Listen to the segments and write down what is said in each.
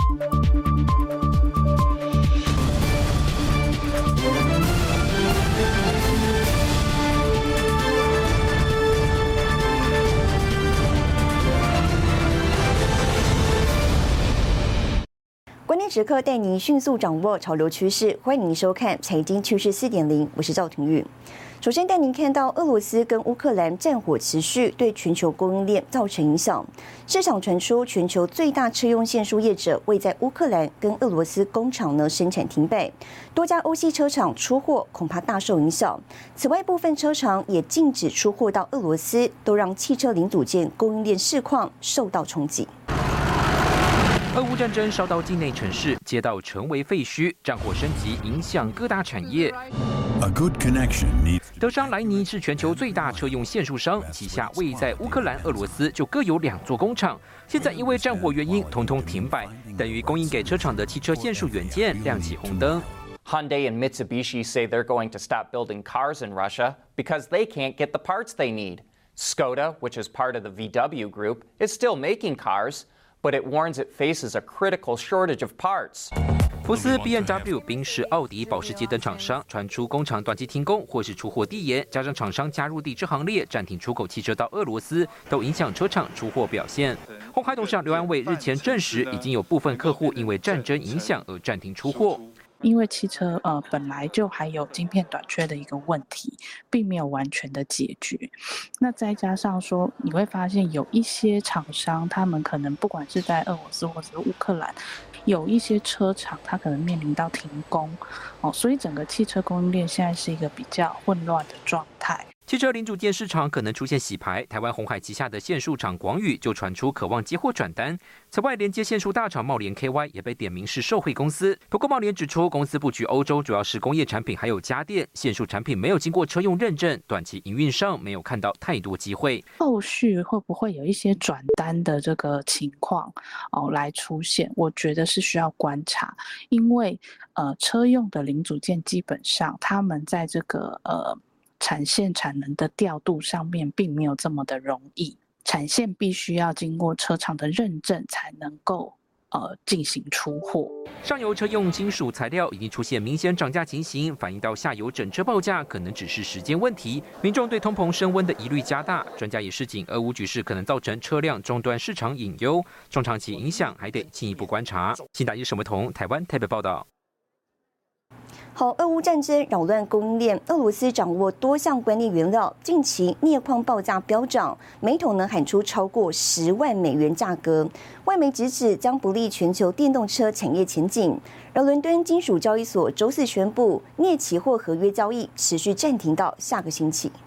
关键时刻带您迅速掌握潮流趋势，欢迎您收看《财经趋势4.0》，我是赵廷玉。首先带您看到俄罗斯跟乌克兰战火持续，对全球供应链造成影响。市场传出全球最大车用线束业者为在乌克兰跟俄罗斯工厂生产停摆，多家欧系车厂出货恐怕大受影响。此外，部分车厂也禁止出货到俄罗斯，都让汽车零组件供应链市况受到冲击。 俄乌战争烧到境内城市，街道成为废墟，战火升级，影响各大产业。德商莱尼是全球最大车用线束商，旗下位在乌克兰、俄罗斯就各有2座工厂，现在因为战火原因，统统停摆，等于供应给车厂的汽车线束元件亮起红灯。 Hyundai and Mitsubishi say they're going to stop building cars in Russia because they can't get the parts they need. Skoda, which is part of the VW group, is still making cars.But it warns it faces a critical shortage of parts. 福斯、BMW、宾士、奥迪、保时捷等厂商传出工厂短期停工或是出货递延，加上厂商加入抵制行列，暂停出口汽车到俄罗斯，都影响车厂出货表现。鸿海董事长刘安伟日前证实，已经有部分客户因为战争影响而暂停出货。 因为汽车本来就还有晶片短缺的一个问题，并没有完全的解决。那再加上说，你会发现有一些厂商，他们可能不管是在俄罗斯或者是乌克兰，有一些车厂它可能面临到停工，所以整个汽车供应链现在是一个比较混乱的状态。 汽车零组件市场可能出现洗牌，台湾鸿海旗下的线束厂广宇就传出渴望接货转单。此外，连接线束大厂茂联 KY 也被点名是受惠公司。不过，茂联指出，公司布局欧洲主要是工业产品还有家电，线束产品没有经过车用认证，短期营运上没有看到太多机会。 后续会不会有一些转单的这个情况来出现？我觉得是需要观察，因为车用的零组件基本上他们在这个产线产能的调度上面并没有这么的容易，产线必须要经过车厂的认证才能够进行出货。 上游车用金属材料已经出现明显涨价情形，反映到下游整车报价可能只是时间问题。民众对通膨升温的疑虑加大，专家也示警，俄乌局势可能造成车辆终端市场隐忧，中长期影响还得进一步观察。新大一沈维彤，台湾台北报道。 好，俄乌战争扰乱供应链，俄罗斯掌握多项关键原料，近期镍矿报价飙涨，每桶喊出超过10万美元价格。外媒直指将不利全球电动车产业前景。而伦敦金属交易所周四宣布，镍期货合约交易持续暂停到下个星期。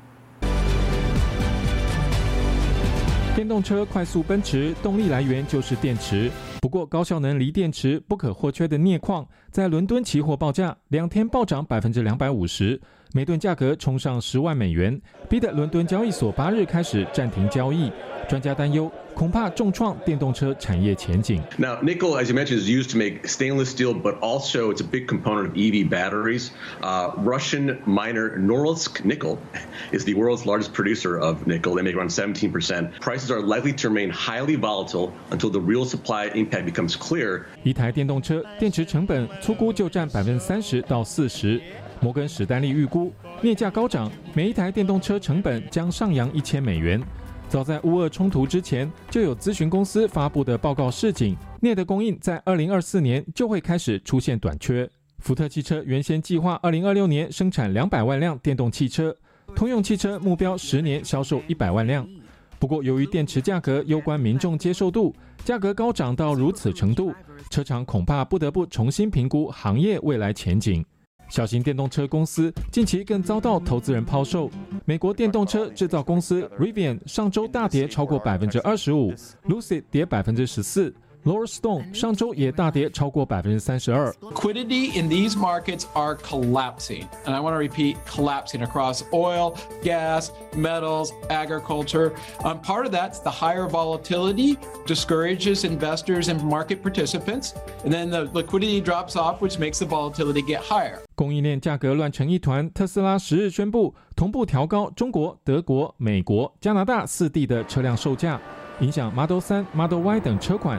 电动车快速奔驰，动力来源就是电池。不过，高效能锂电池不可或缺的镍矿，在伦敦期货报价2天暴涨250%，每吨价格冲上10万美元，逼得伦敦交易所8日开始暂停交易。专家担忧，恐怕重创电动车产业前景。 Now, nickel, as you mentioned, is used to make stainless steel, but also it's a big component of EV batteries. Russian miner Norilsk Nickel is the world's largest producer of nickel. They make around 17%. Prices are likely to remain highly volatile until the real supply impact becomes clear. 一台电动车电池成本粗估就占30%到40%。摩根史丹利预估，镍价高涨，每一台电动车成本将上扬1000美元。早在乌俄冲突之前，就有咨询公司发布的报告示警，镍的供应在2024年就会开始出现短缺。福特汽车原先计划2026年生产200万辆电动汽车，通用汽车目标10年销售100万辆。不过，由于电池价格攸关民众接受度，价格高涨到如此程度，车厂恐怕不得不重新评估行业未来前景。小型电动车公司近期更遭到投资人抛售。美国电动车制造公司 Rivian 上周大跌超过25%， Lucid 跌14%，Lordstone 上周也大跌超过32%。 Liquidity in these markets are collapsing, and I want to repeat, collapsing across oil, gas, metals, agriculture. Part of that's the higher volatility discourages investors and market participants, and then the liquidity drops off, which makes the volatility get higher. 供应链价格乱成一团，特斯拉10日宣布同步调高中国、德国、美国、加拿大4地的车辆售价，影响 Model 3、Model Y 等车款。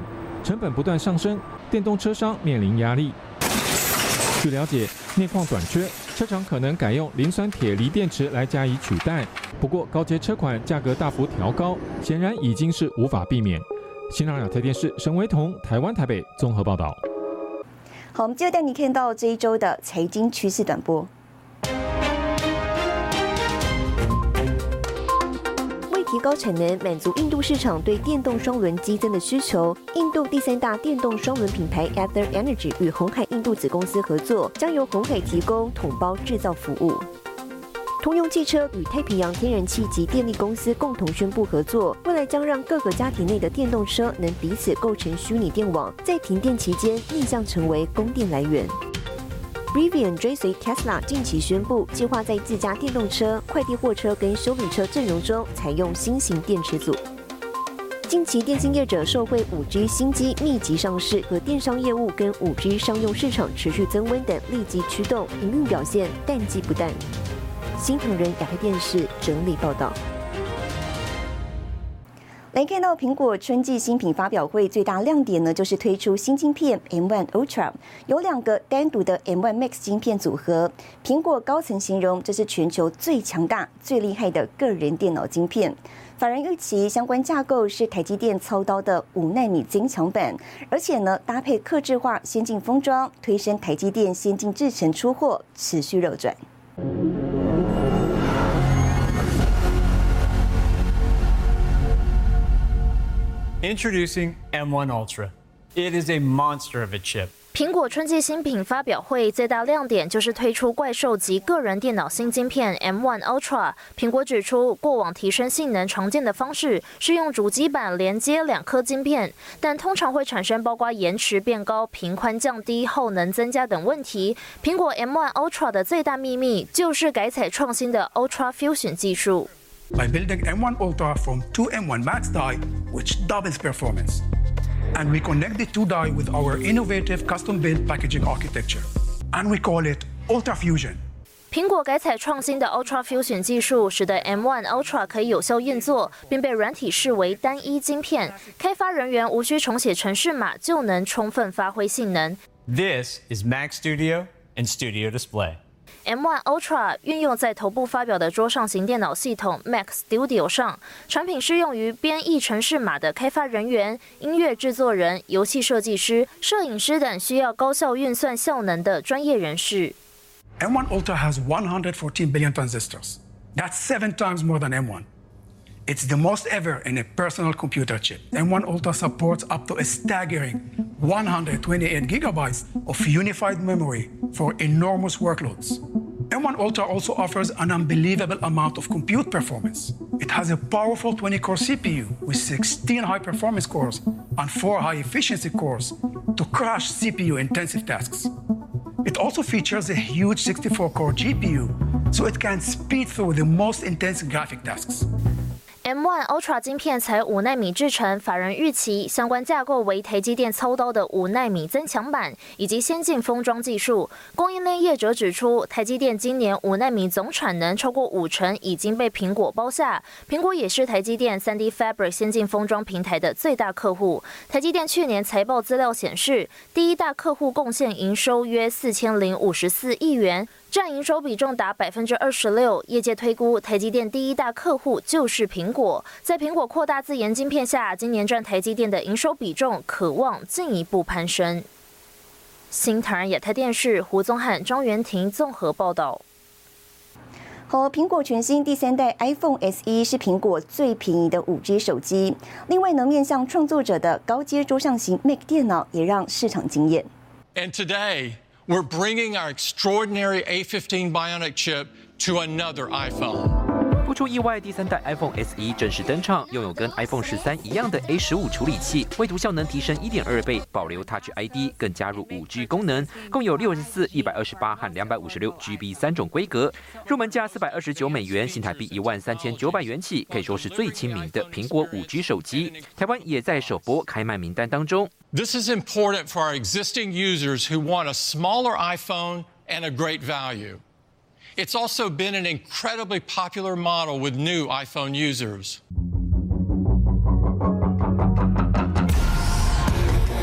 成本不断上升，电动车商面临压力。据了解，镍矿短缺，车厂可能改用磷酸铁锂电池来加以取代。不过，高阶车款价格大幅调高，显然已经是无法避免。新唐亚特电视沈维彤，台湾台北综合报道。 好，我们接着带你看到这一周的财经趋势短波。提高产能，满足印度市场对电动双轮激增的需求。印度第3大电动双轮品牌 Ather Energy 与鸿海印度子公司合作，将由鸿海提供统包制造服务。通用汽车与太平洋天然气及电力公司共同宣布合作，未来将让各个家庭内的电动车能彼此构成虚拟电网，在停电期间逆向成为供电来源。Rivian 追随 Tesla 近期宣布，计划在自家电动车、快递货车跟休旅车阵容中采用新型电池组。近期电信业者受惠 5G 新机密集上市和电商业务跟 5G 商用市场持续增温等利基驱动，营运表现淡季不淡。新唐人亚太电视整理报道。来看到苹果春季新品发表会，最大亮点呢就是推出新晶片 M1 Ultra， 有2个单独的 M1 Max 晶片组合。苹果高层形容这是全球最强大、最厉害的个人电脑晶片。法人预期相关架构是台积电操刀的5奈米增强版，而且呢搭配客制化先进封装，推升台积电先进制程出货持续热转。 Introducing M1 Ultra. It is a monster of a chip. 苹果春季新品发表会最大亮点就是推出怪兽级个人电脑新晶片 M1 Ultra。苹果指出，过往提升性能常见的方式是用主机板连接2颗晶片，但通常会产生包括延迟变高、频宽降低、耗能增加等问题。苹果 M1 Ultra 的最大秘密就是改采创新的 Ultra Fusion 技术。 By building M1 Ultra from 2 M1 Max die, which doubles performance. And we connect the 2 die with our innovative custom-built packaging architecture. And we call it Ultra Fusion. 苹果改采创新的 Ultra Fusion 技术，使得 M1 Ultra 可以有效运作，并被软体视为单一晶片，开发人员无需重写程式码就能充分发挥性能。 This is Mac Studio and Studio Display. M1 Ultra 运用在头部发表的桌上型电脑系统 Mac Studio 上，产品适用于编译程式码的开发人员、音乐制作人、游戏设计师、摄影师等需要高效运算效能的专业人士。 M1 Ultra has 114 billion transistors. That's 7 times more than M1. It's the most ever in a personal computer chip. M1 Ultra supports up to a staggering 128 gigabytes of unified memory for enormous workloads. M1 Ultra also offers an unbelievable amount of compute performance. It has a powerful 20-core CPU with 16 high-performance cores and 4 high-efficiency cores to crush CPU-intensive tasks. It also features a huge 64-core GPU, so it can speed through the most intense graphic tasks. M1 Ultra 晶片采5奈米制程，法人预期相关架构为台积电操刀的5奈米增强版，以及先进封装技术。供应链业者指出，台积电今年5奈米总产能超过50%已经被苹果包下，苹果也是台积电 3D Fabric 先进封装平台的最大客户。台积电去年财报资料显示，第一大客户贡献营收约4054亿元。占营收比重达26%，业界推估台积电第一大客户就是苹果。在苹果扩大自研晶片下，今年占台积电的营收比重可望进一步攀升。新唐人亚太电视胡宗翰、张元婷综合报道。 好，苹果全新第3代 iPhone SE 是苹果最便宜的5G 手机。另外呢，面向创作者的高阶桌上型 Mac 电脑也让市场惊艳。 And today.We're bringing our extraordinary A15 Bionic chip to another iPhone. 不出意外，第3代 iPhone SE 正式登场，拥有跟 iPhone 13一样的 A15 处理器，绘图效能提升1.2倍，保留 Touch ID， 更加入5G 功能，共有64、128和256 GB 3种规格，入门价$429，新台币13900元起，可以说是最亲民的苹果5G 手机。台湾也在首波开卖名单当中。 This is important for our existing users who want a smaller iPhone and a great value.It's also been an incredibly popular model with new iPhone users.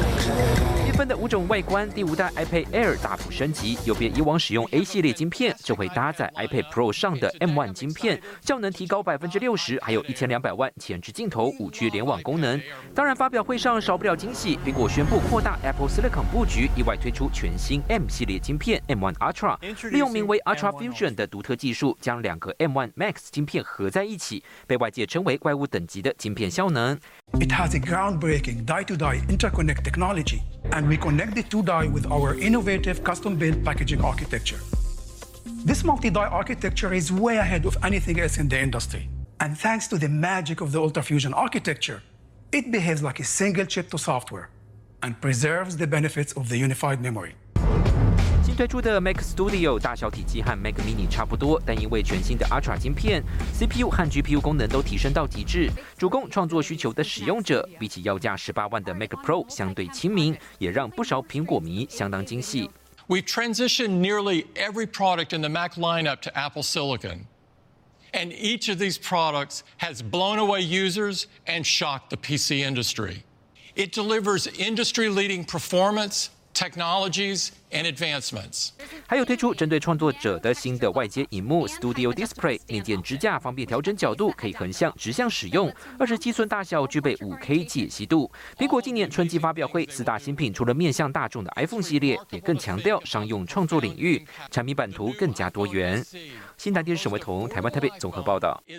的5种外观，第5代 iPad Air 大幅升级，有别以往使用 A 系列晶片，这回搭载 iPad Pro 上的 M1 晶片，效能提高60%，还有1200万前置镜头、5G 联网功能。当然，发表会上少不了惊喜，苹果宣布扩大 Apple Silicon 布局，意外推出全新 M 系列晶片 M1 Ultra， 利用名为 Ultra Fusion 的独特技术，将2个 M1 Max 晶片合在一起，被外界称为怪物等级的晶片效能。 It has a groundbreaking die-to-die interconnect technology, and we connect the two die with our innovative custom-built packaging architecture. This multi-die architecture is way ahead of anything else in the industry. And thanks to the magic of the UltraFusion architecture, it behaves like a single chip to software and preserves the benefits of the unified memory. 新推出的 Mac Studio 大小体积和 Mac Mini 差不多，但因为全新的 Ultra 晶片 ，CPU 和 GPU 功能都提升到极致，主攻创作需求的使用者，比起要价18万的 Mac Pro 相对亲民，也让不少苹果迷相当惊喜。 We've transitioned nearly every product in the Mac lineup to Apple Silicon. And each of these products has blown away users and shocked the PC industry. It delivers industry-leading performance, technologies, and advancements. 还有推出针对创作者的新的外接萤幕 Studio Display， 内建支架方便调整角度，可以横向、直向使用。27寸大小，具备5K 解析度。苹果今年春季发表会4大新品，除了面向大众的 iPhone 系列，也更强调商用创作领域，产品版图更加多元。新台电视沈维彤台湾台北综合报道。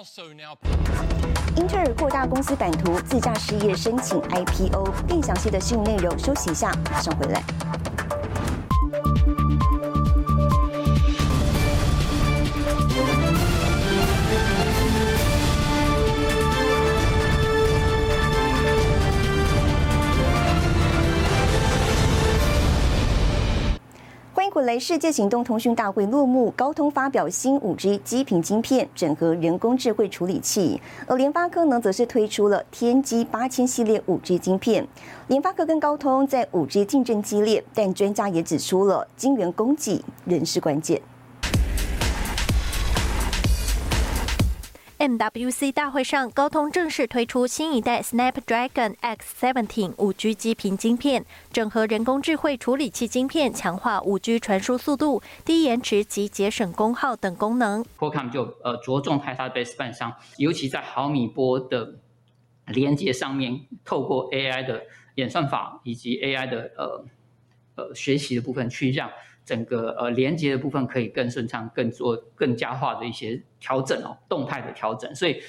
英特尔扩大公司版图，自家事业申请 IPO。更详细的新闻内容，休息一下，马上回来。欢迎回来！世界行动通讯大会落幕，高通发表新5G 基频晶片，整合人工智慧处理器。而联发科呢，则是推出了天玑8000系列5G 晶片。联发科跟高通在5G 竞争激烈，但专家也指出了晶圆供给仍是关键。 MWC 大会上，高通正式推出新一代 Snapdragon X17 5G 基频晶片，整合人工智慧处理器晶片，强化5G 传输速度、低延迟及节省功耗等功能。 Qualcomm 就着重在它的 baseband 上，尤其在毫米波的连接上面，透过 AI 的演算法以及 AI 的学习的部分，去让整个连接的部分可以更顺畅、更加化的一些调整动态的调整。所以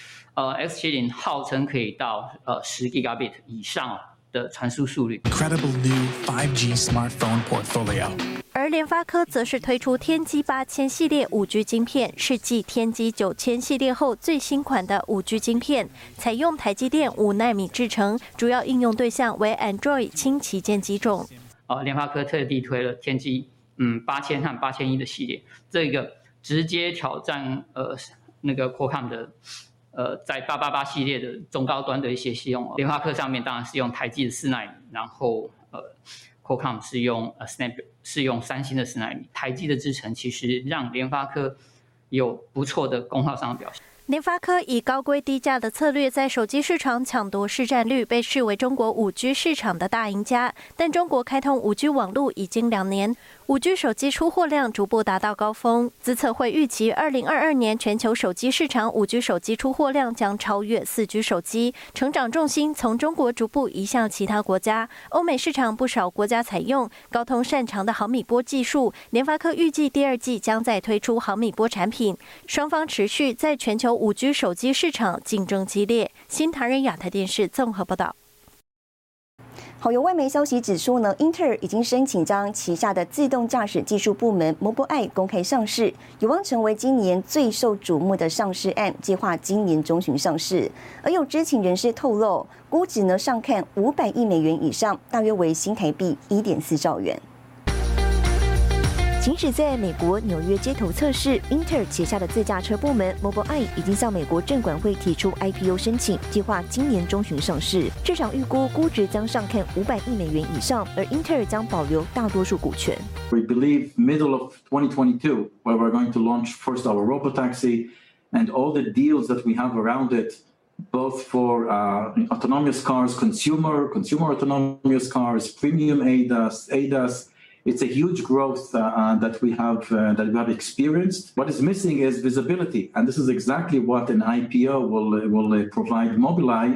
X70 号称可以到10 Gigabit 以上的传输速率。 Incredible new 5G smartphone portfolio. 而联发科则是推出天玑8000系列5G 晶片，是继天玑9000系列后最新款的5G 晶片，采用台积电5奈米制程，主要应用对象为 Android 轻旗舰机种。 联发科特地推了天玑8000和8100的系列，这个直接挑战那个 Qualcomm 的在888系列的中高端的一些系统。联发科上面当然是用台积的4奈米，然后Qualcomm 是用是用三星的4奈米。台积的制程其实让联发科有不错的功耗上的表现。 联发科以高规低价的策略，在手机市场抢夺市占率，被视为中国5G 市场的大赢家。但中国开通5G 网络已经2年，5G 手机出货量逐步达到高峰。资策会预期，2022年全球手机市场5G 手机出货量将超越4G 手机，成长重心从中国逐步移向其他国家。欧美市场不少国家采用高通擅长的毫米波技术，联发科预计第2季将再推出毫米波产品。双方持续在全球5G 手机市场竞争激烈。新唐人亚太电视综合报道。 好，有外媒消息指出呢，英特尔已经申请将旗下的自动驾驶技术部门 Mobileye 公开上市，有望成为今年最受瞩目的上市案，计划今年中旬上市。而有知情人士透露，估值呢上看500亿美元以上，大约为新台币1.4兆元。行驶在美国纽约街头测试，英特尔旗下的自驾车部门 Mobileye 已经向美国证管会提出 IPO 申请，计划今年中旬上市。市场预估估值将上看500亿美元以上，而英特尔将保留大多数股权。 We believe middle of 2022, where we're going to launch first our robotaxi and all the deals that we have around it both for autonomous cars, consumer autonomous cars, premium ADAS. It's a huge growth that we have experienced. What is missing is visibility, and this is exactly what an IPO will provide Mobileye.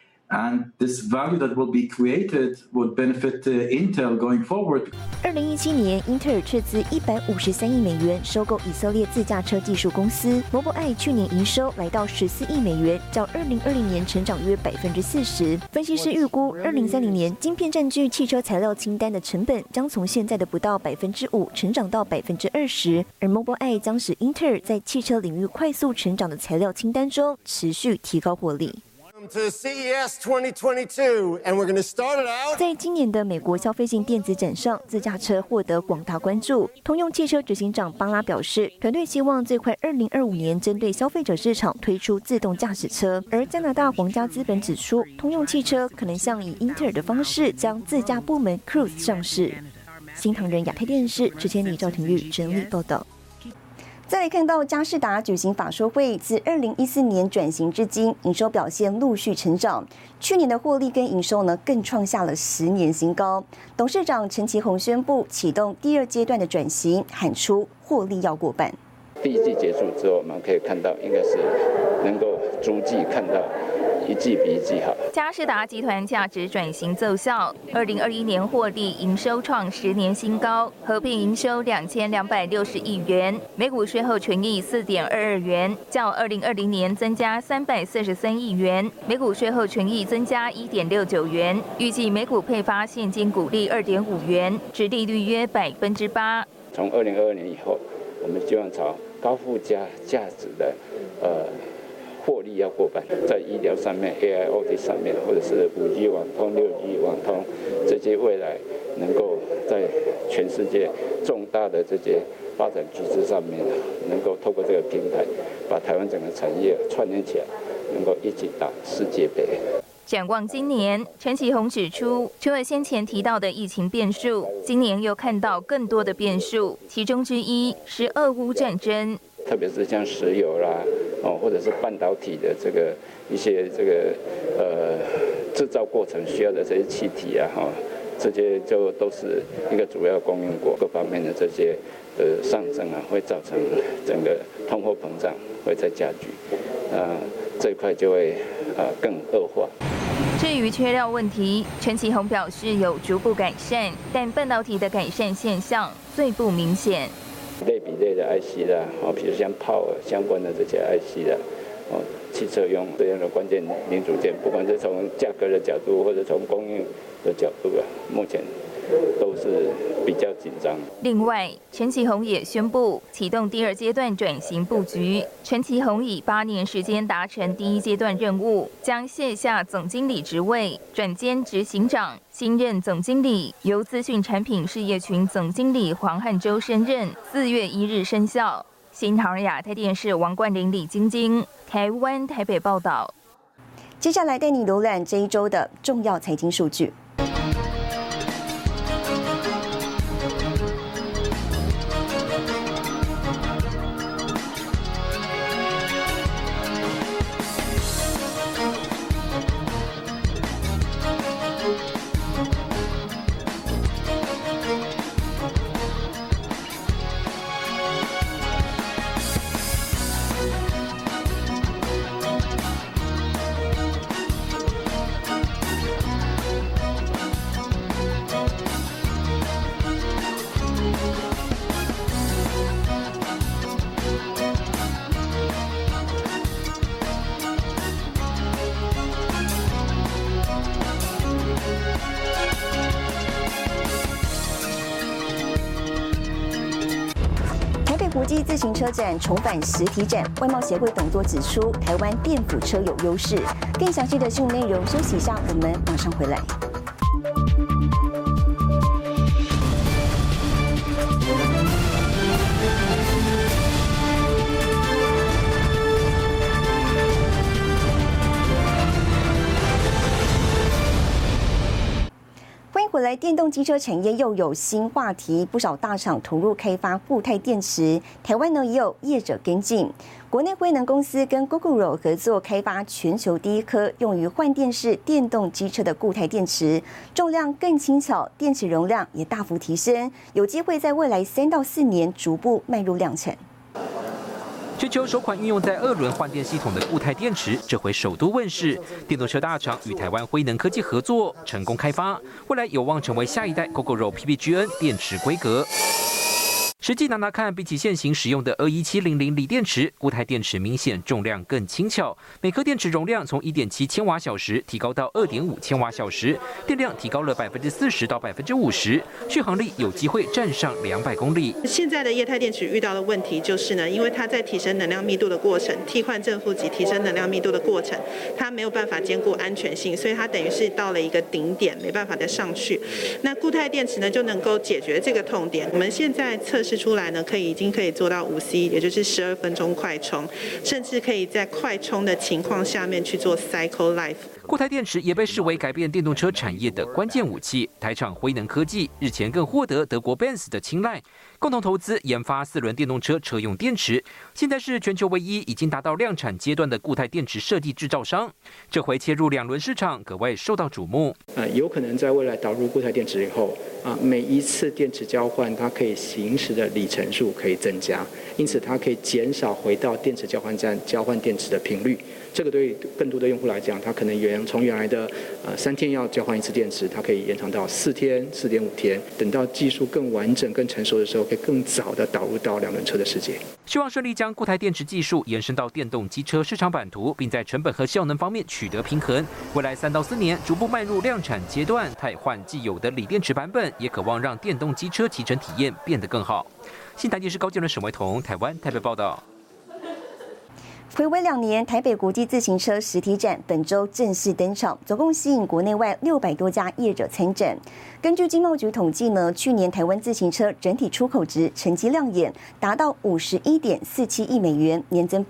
And this value that will be created would benefit Intel going forward. 2017年，英特尔斥资153亿美元收购以色列自驾车技术公司 Mobileye， 去年营收来到14亿美元，较2020年成长约40%。分析师预估，2030年晶片占据汽车材料清单的成本将从现在的不到5%成长到20%，而 Mobileye 将使英特尔在汽车领域快速成长的材料清单中持续提高获利。 To CES 2022, and we're going to start it out. 在今年的美国消费性电子展上，自驾车获得广大关注。通用汽车执行长巴拉表示，团队希望最快2025年针对消费者市场推出自动驾驶车。而加拿大皇家资本指出，通用汽车可能像以英特尔的方式将自驾部门 Cruise 上市。新唐人亚太电视陈千里、赵廷玉整理报道。再来看到佳世达举行法说会，自2014年转型至今，营收表现陆续成长。去年的获利跟营收呢，更创下了10年新高。董事长陈其宏宣布启动第2阶段的转型，喊出获利要过半。 第1季结束之后，我们可以看到，应该是能够逐季看到一季比一季好。 佳世达集团价值转型奏效，2021年获利营收创10年新高，合并营收2260亿元，每股税后纯益4.22元，较2020年增加343亿元，每股税后纯益增加1.69元，预计每股配发现金股利2.5元，殖利率约8%。 从2022年以后，我们希望朝高附加价值的获利要过半，在医疗上面、AIoT 上面，或者是5G 网通、6G 网通这些未来能够在全世界重大的这些发展趋势上面，能够透过这个平台，把台湾整个产业串联起来，能够一起打世界杯。 展望今年，陈其宏指出，除了先前提到的疫情变数，今年又看到更多的变数，其中之一是俄乌战争， 特别是像石油啦，或者是半导体的一些制造过程需要的这些气体啊，这些就都是一个主要供应国，各方面的这些上升啊，会造成整个通货膨胀会再加剧，这一块就会更恶化。 至于缺料问题，陈其宏表示有逐步改善，但半导体的改善现象最不明显。 类比类的 IC 啦，比如像 Power 相关的这些 IC 啦，汽车用这样的关键零组件，不管是从价格的角度或者从供应的角度啊，目前都是比较紧张。 另外，陈其宏也宣布启动第2阶段转型布局。陈其宏以8年时间达成第1阶段任务，将卸下总经理职位，转兼执行长。新任总经理由资讯产品事业群总经理黄汉洲升任，4月1日生效。新唐人亚太电视王冠玲、李晶晶，台湾台北报道。 接下来带你浏览这一周的重要财经数据。国际自行车展重返实体展，外贸协会董座指出，台湾电辅车有优势。更详细的新闻内容，休息一下，我们马上回来。回来，电动机车产业又有新话题，不少大厂投入开发固态电池，台湾呢也有业者跟进。 国内辉能公司跟 Gogoro 合作开发全球第一颗用于换电式电动机车的固态电池，重量更轻巧，电池容量也大幅提升，有机会在未来3到4年逐步迈入量产。 全球首款运用在2轮换电系统的固态电池，这回首度问世。电动车大厂与台湾辉能科技合作，成功开发，未来有望成为下一代 Gogoro PPGN 电池规格。实际拿看，比起现行使用的21700锂电池，固态电池明显重量更轻巧，每颗电池容量从1.7千瓦小时提高到2.5千瓦小时，电量提高了40%到50%，续航力有机会站上200公里。 现在的液态电池遇到的问题就是呢，因为它在提升能量密度的过程，替换正负极提升能量密度的过程，它没有办法兼顾安全性，所以它等于是到了一个顶点，没办法再上去。那固态电池呢，就能够解决这个痛点。我们现在测试出来呢，已经可以做到5C， 也就是12分钟快充，甚至可以在快充的情况下面去做 cycle life。 固态电池也被视为改变电动车产业的关键武器。台厂辉能科技日前更获得德国 Benz 的青睐，共同投资研发4轮电动车车用电池。现在是全球唯一已经达到量产阶段的固态电池设计制造商。这回切入2轮市场，格外受到瞩目。 有可能在未来导入固态电池以后，每一次电池交换，它可以行驶的里程数可以增加，因此它可以减少回到电池交换站交换电池的频率。这个对更多的用户来讲，它可能从原来的3天要交换1次电池，它可以延长到4天、4.5天。等到技术更完整、更成熟的时候，可以更早的导入到2轮车的世界。 希望顺利将固态电池技术延伸到电动机车市场版图，并在成本和效能方面取得平衡。未来3到4年逐步迈入量产阶段，汰换既有的锂电池版本，也渴望让电动机车骑乘体验变得更好。新台电视高建伦、沈维彤，台湾台北报道。 睽违2年，台北国际自行车实体展本周正式登场，总共吸引国内外600多家业者参展。根据经贸局统计呢，去年台湾自行车整体出口值成绩亮眼，达到51.47亿美元，年增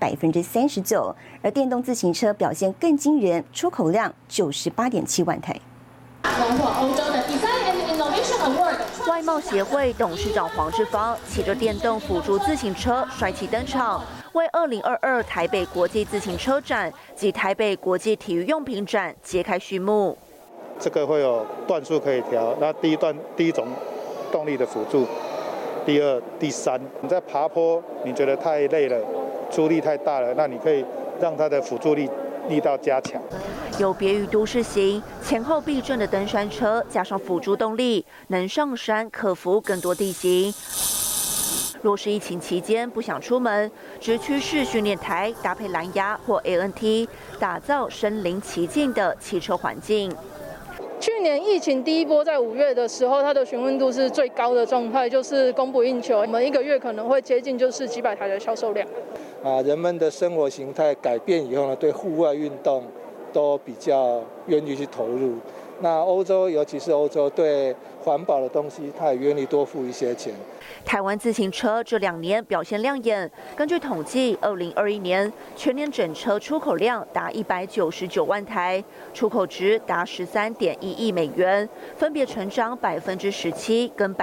39%，而电动自行车表现更惊人，出口量98.7万台。 荣获欧洲的 Design and Innovation Award。外贸协会董事长黄志芳骑着电动辅助自行车帅气登场，为2022台北国际自行车展及台北国际体育用品展揭开序幕。 这个会有段数可以调，那第一种动力的辅助，第2、第3，你在爬坡你觉得太累了，出力太大了，那你可以让它的辅助力道加强。 有别于都市型前后避震的登山车，加上辅助动力，能上山克服更多地形。若是疫情期间不想出门，直驱式训练台搭配蓝牙或 ANT， 打造身临其境的汽车环境。 去年疫情第一波在5月的时候，它的询问度是最高的状态，就是供不应求。我们1个月可能会接近就是几百台的销售量。 人们的生活形态改变以后呢，对户外运动都比较愿意去投入。那欧洲，尤其是欧洲，对环保的东西，它也愿意多付一些钱。 台湾自行车这2年表现亮眼。根据统计，2021年全年整车出口量达199万台，出口值达13.1亿美元，分别成长17%跟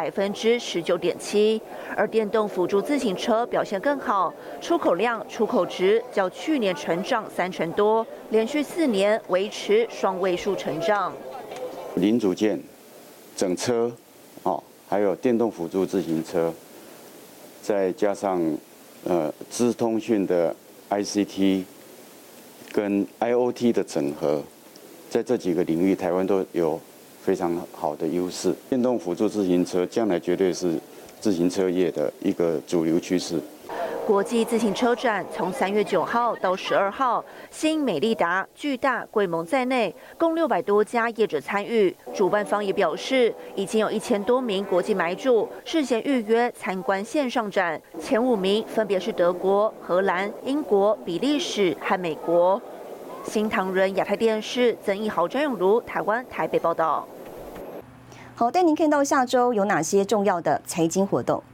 19.7%。而电动辅助自行车表现更好，出口量、出口值较去年成长30%多，连续4年维持双位数成长。 零组件、整车，还有电动辅助自行车，再加上资通讯的 ICT 跟 IoT 的整合，在这几个领域，台湾都有非常好的优势。电动辅助自行车将来绝对是自行车业的一个主流趋势。 国际自行车展从3月9号到12号，吸引美利达、巨大、贵盟在内，共600多家业者参与。主办方也表示，已经有1000多名国际买主事先预约参观线上展，前5名分别是德国、荷兰、英国、比利时和美国。新唐人亚太电视曾义豪、张永如，台湾台北报道。 好，带您看到下周有哪些重要的财经活动。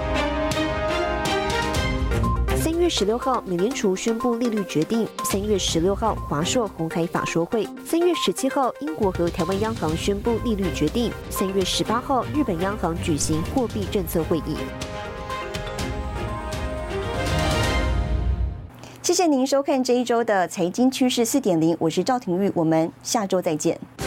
3月16号，美联储宣布利率决定；3月16号，华硕鸿海法说会；3月17号，英国和台湾央行宣布利率决定；3月18号，日本央行举行货币政策会议。 谢谢您收看这一周的财经趋势4.0，我是赵廷玉，我们下周再见。